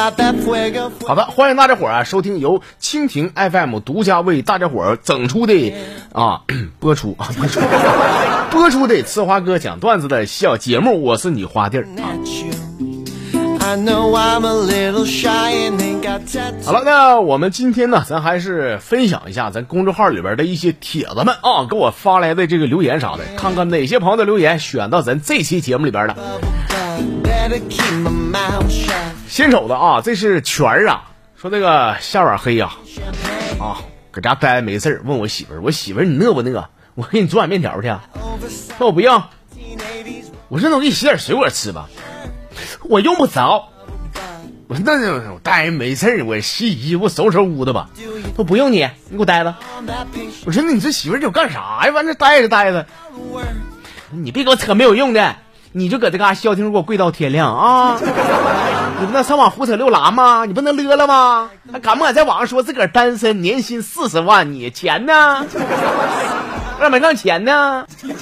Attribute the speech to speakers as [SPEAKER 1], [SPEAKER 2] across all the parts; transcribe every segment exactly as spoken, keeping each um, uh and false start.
[SPEAKER 1] 好的，欢迎大家伙儿啊收听由蜻蜓 F M 独家为大家伙儿整出的啊播出啊播出播出的呲花哥讲段子的小节目，我是你花弟儿啊。好了，那我们今天呢，咱还是分享一下咱公众号里边的一些帖子们啊，给我发来的这个留言啥的，看看哪些朋友的留言选到咱这期节目里边了。先瞅的啊，这是全儿啊，说这个下晚黑呀、啊，啊，搁家待没事问我媳妇儿，我媳妇儿你饿不饿？我给你做碗面条去。说我不用，我说那我给你洗点水果吃吧。我用不着。我说那我待着没事我洗衣服收拾屋子吧。说不用你，你给我待着。我说那你这媳妇儿你干啥呀？完这待着待着。你别给我扯没有用的，你就搁这嘎消停给我跪到天亮啊！你不能上网胡扯六拉吗？你不能乐了吗？还敢不敢在网上说自个儿单身，年薪四十万？你钱呢？让没让钱呢？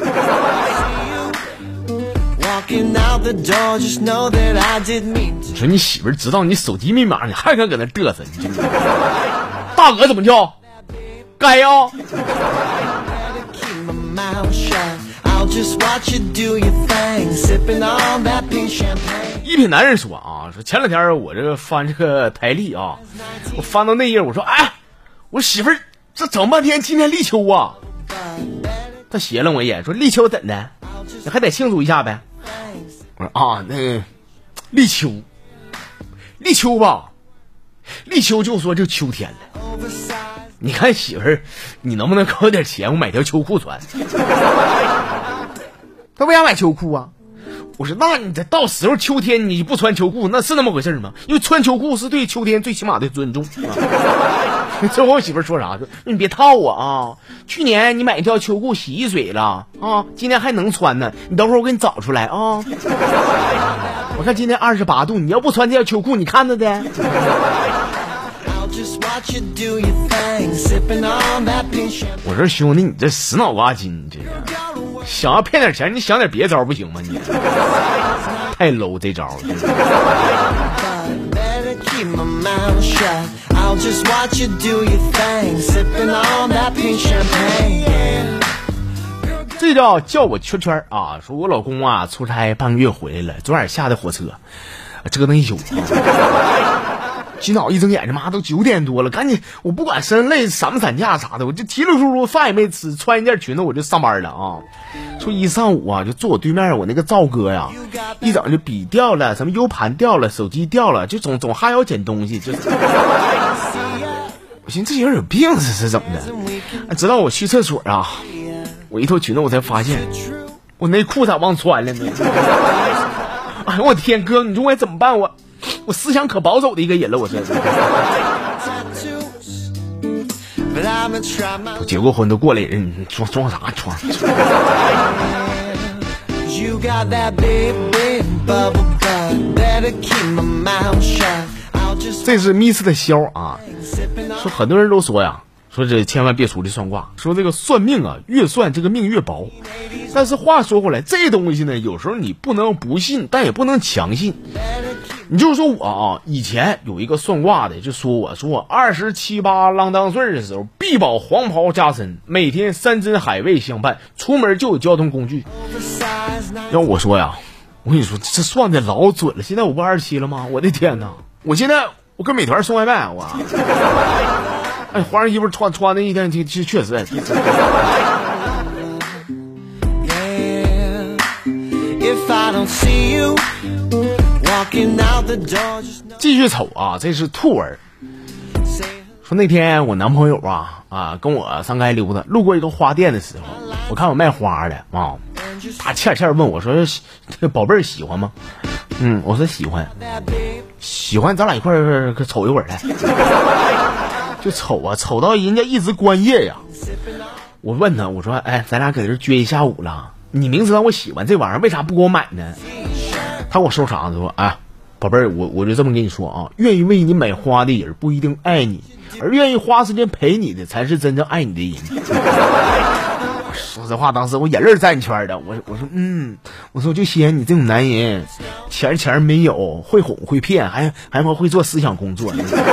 [SPEAKER 1] 你说你媳妇儿知道你手机密码，你还敢搁那嘚瑟？你大哥怎么叫？该呀、哦。一品男人说啊，说前两天我这个翻这个台历啊，我翻到那页，我说哎，我媳妇儿这整半天今天立秋啊。他斜了我一眼，说立秋怎的？你还得庆祝一下呗。我说啊，那个立秋，立秋吧，立秋就说就秋天了。你看媳妇儿，你能不能给我点钱，我买条秋裤穿？他为啥买秋裤啊？我说那你这到时候秋天你不穿秋裤，那是那么回事吗？因为穿秋裤是对秋天最起码的尊重。这我媳妇说啥？说你别套我啊！去年你买一条秋裤洗一水了啊，今天还能穿呢。你等会儿我给你找出来啊！我看今天二十八度，你要不穿这条秋裤，你看着的。我说兄弟，你这死脑瓜筋，这想要骗点钱，你想点别招不行吗？你太 low 这招。这叫叫我圈圈啊！说我老公啊出差半个月回来了，昨晚下的火车，折腾一宿。今早一睁眼，他妈都九点多了，赶紧我不管身累散不散架啥的，我就提溜出出饭也没吃，穿一件裙子我就上班了啊。说一上午啊，就坐我对面我那个赵哥呀，一整就笔掉了，什么 U 盘掉了，手机掉了，就总总还要捡东西，就是我寻思这人有病，这是怎么的？直到我去厕所啊，我一脱裙子我才发现我内裤咋忘穿了呢？哎呦我天，哥你说我怎么办？我我思想可保守的一个人了，我这我结过婚都过来人，装装啥装？这是密斯的肖啊，说很多人都说呀，说这千万别出去算卦，说这个算命啊，越算这个命越薄。但是话说回来，这东西呢，有时候你不能不信，但也不能强信。你就是说我啊，以前有一个算卦的就说我说我二十七八啷当岁的时候，必保黄袍加身，每天山珍海味相伴，出门就有交通工具。要我说呀，我跟你说这算的老准了。现在我不二十七了吗？我的天哪！我现在我跟美团送外卖，我哎换上衣服穿穿的一天，确确实。继续瞅啊，这是兔儿说那天我男朋友啊啊跟我上街溜达，路过一个花店的时候，我看我卖花的啊，他欠欠问我说宝贝儿喜欢吗？嗯，我说喜欢，喜欢咱俩一块儿瞅一会儿来。就瞅啊瞅到人家一直关业呀，我问他我说哎咱俩搁这撅一下午了，你明知道我喜欢这玩意儿为啥不给我买呢？他给我收啥子说哎宝贝儿，我我就这么跟你说啊，愿意为你买花的人不一定爱你，而愿意花时间陪你的才是真正爱你的人。 说实话，当时我眼泪站圈的，我我说嗯，我说我就稀罕你这种男人，钱钱没有，会哄会骗，还还会做思想工作。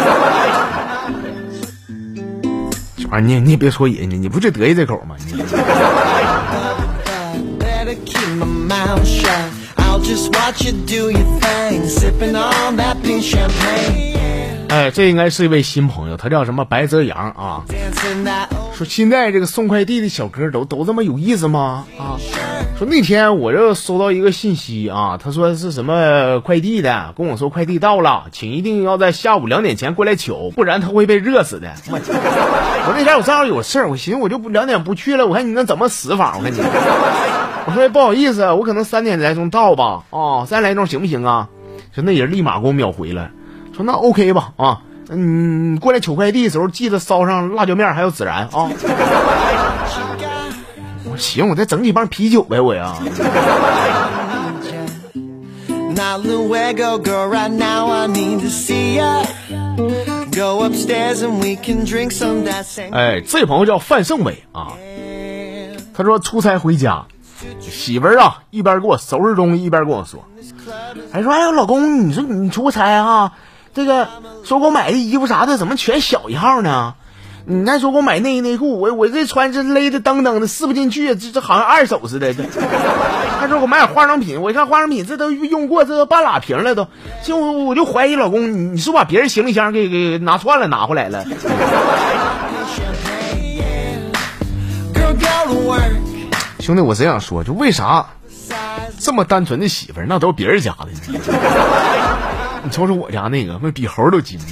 [SPEAKER 1] 这玩意儿你你也别说人家，你不就得意这口吗？你哎，这应该是一位新朋友，他叫什么白泽阳啊？说现在这个送快递的小哥都都这么有意思吗？啊，说那天我就收到一个信息啊，他说是什么快递的，跟我说快递到了，请一定要在下午两点前过来取，不然他会被热死的。我, 我那天我正好有事儿，我寻思我就不两点不去了，我看你能怎么死法？我看你，我说不好意思，我可能三点来钟到吧，哦，三点来钟行不行啊？说那人立马给我秒回了。说那 OK 吧啊，嗯，过来取快递的时候记得烧上辣椒面还有孜然啊。我行，我再整几瓶啤酒呗，我呀。哎，这朋友叫范胜伟啊，他说出差回家，媳妇儿啊一边给我收拾东西一边跟我说，还说哎呦老公，你说你出差啊？这个说给我买的衣服啥的怎么全小一号呢？你还说给我买内衣内裤，我我这穿是勒的噔噔的撕不进去，这这好像二手似的。他说给我买点化妆品，我一看化妆品这都用过，这都半拉瓶了都。就我我就怀疑老公，你你是把别人行李箱给给拿串了拿回来了。兄弟，我真想说，就为啥这么单纯的媳妇儿，那都是别人家的呢？你瞅瞅我家那个，那比猴都精。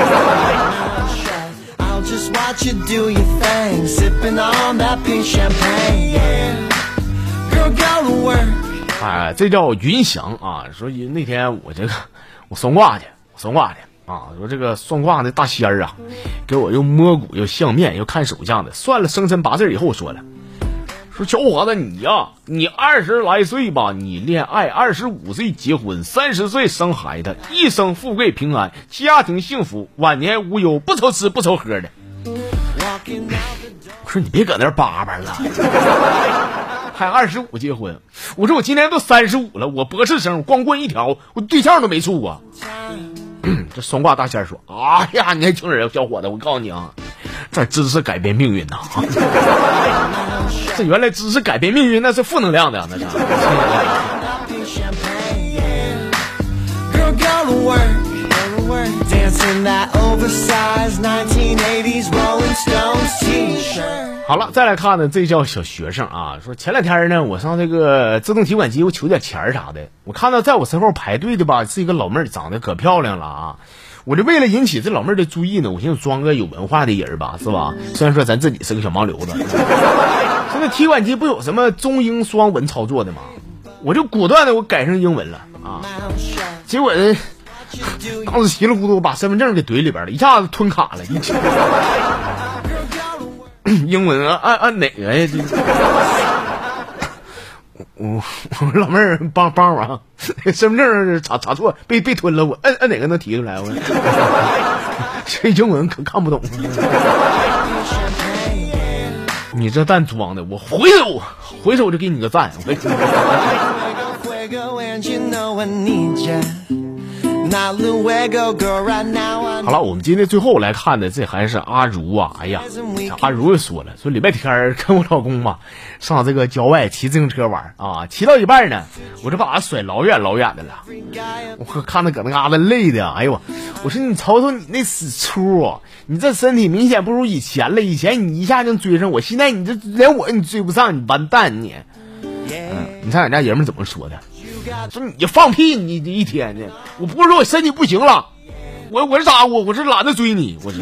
[SPEAKER 1] 哎，这叫云翔啊！说那天我这个我算卦去，我算卦去啊！说这个算卦的大仙儿啊，给我又摸骨又相面又看手相的，算了生辰八字以后说了。说小伙子你呀、啊，你二十来岁吧，你恋爱，二十五岁结婚，三十岁生孩子，一生富贵平安，家庭幸福，晚年无忧，不愁吃不愁喝的。我说你别搁那叭叭了，还二十五结婚。我说我今年都三十五了，我博士生，光棍一条，我对象都没处过。这双卦大仙说：“哎呀，年轻人，小伙子，我告诉你啊，这知识改变命运呐！这原来知识改变命运，那是负能量的，那是。”好了，再来看呢，这叫小学生啊。说前两天呢，我上这个自动提款机，我取点钱啥的，我看到在我身后排队的吧，是一个老妹儿，长得可漂亮了啊。我就为了引起这老妹儿的注意呢，我寻思装个有文化的人吧，是吧？虽然说咱自己是个小盲流子，现在提款机不有什么中英双文操作的吗？我就果断的我改成英文了啊。结果呢，当时稀里糊涂把身份证给怼里边了，一下子吞卡了，一起英文啊，按按哪个呀？这我我老妹儿帮帮忙，身份证查查错，被被吞了，我按按哪个能提出来？我这英文可看不懂。你这蛋装的，我回手回手就给你个赞。好了，我们今天最后来看的这还是阿如啊。哎呀，阿如又说了，说礼拜天跟我老公吧上这个郊外骑自行车玩啊，骑到一半呢，我就把他甩老远老远的了。我看他搁那嘎达累的，哎呦，我说你瞅瞅你那死粗啊，你这身体明显不如以前了，以前你一下就追上我，现在你这连我你追不上，你完蛋你。嗯，你看俺家爷们怎么说的？说你放屁，你你一天呢？我不是说我身体不行了，我我是咋？我我是懒得追你，我是。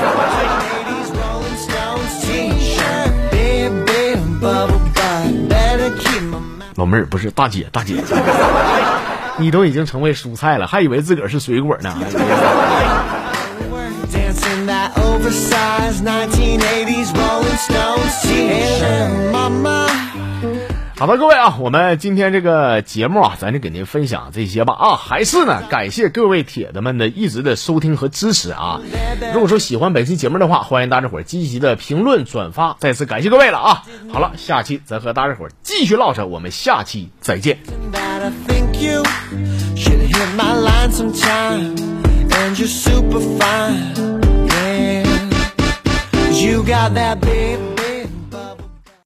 [SPEAKER 1] 老妹儿不是大姐，大姐，你都已经成为蔬菜了，还以为自个儿是水果呢。 好的，各位啊，我们今天这个节目啊，咱就给您分享这些吧啊，还是呢，感谢各位铁子们的一直的收听和支持啊。如果说喜欢本期节目的话，欢迎大家伙儿积极的评论转发，再次感谢各位了啊。好了，下期咱和大家伙儿继续唠扯，我们下期再见。You got that babe